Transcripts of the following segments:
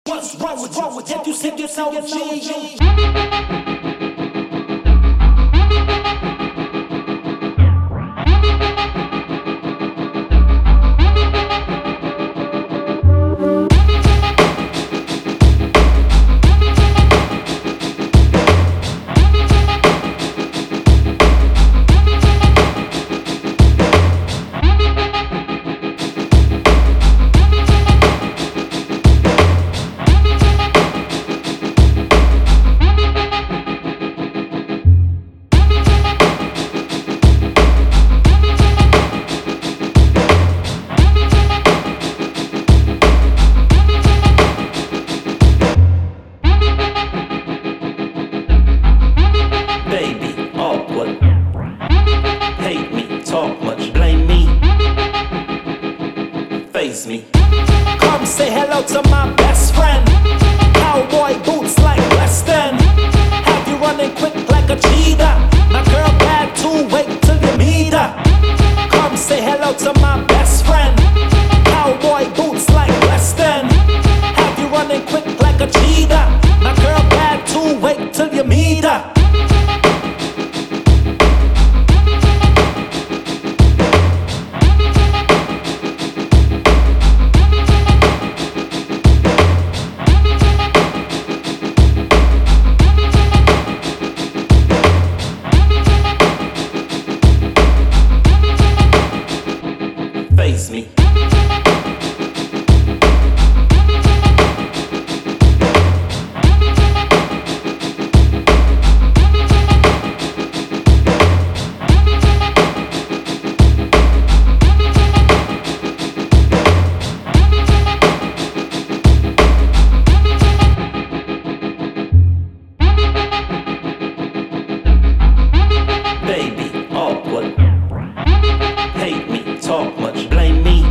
What's wrong with you? Can't you sing yourself a G? Hate me, talk much, blame me, face me. Come say hello to my best friend. Cowboy boots like Western. Have you running quick like a cheetah? My girl bad too, wait till you meet her. Come say hello to my best friend. Cowboy boots like Western. Have you running quick like a cheetah? My girl bad too, wait till you meet her. Face me. Baby, awkward. Hate me, talk much, blame me,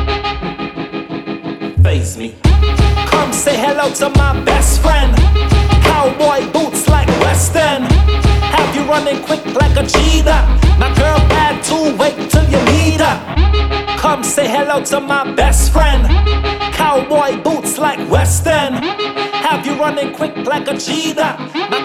face me. Come say hello to my best friend. Cowboy boots like Western. Have you running quick like a cheetah? My girl bad too, wait till you meet her. Come say hello to my best friend. Cowboy boots like Western. Have you running quick like a cheetah? My